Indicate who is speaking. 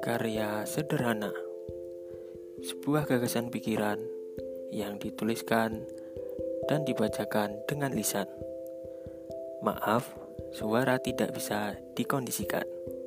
Speaker 1: Karya sederhana, sebuah gagasan pikiran yang dituliskan dan dibacakan dengan lisan. Maaf, suara tidak bisa dikondisikan.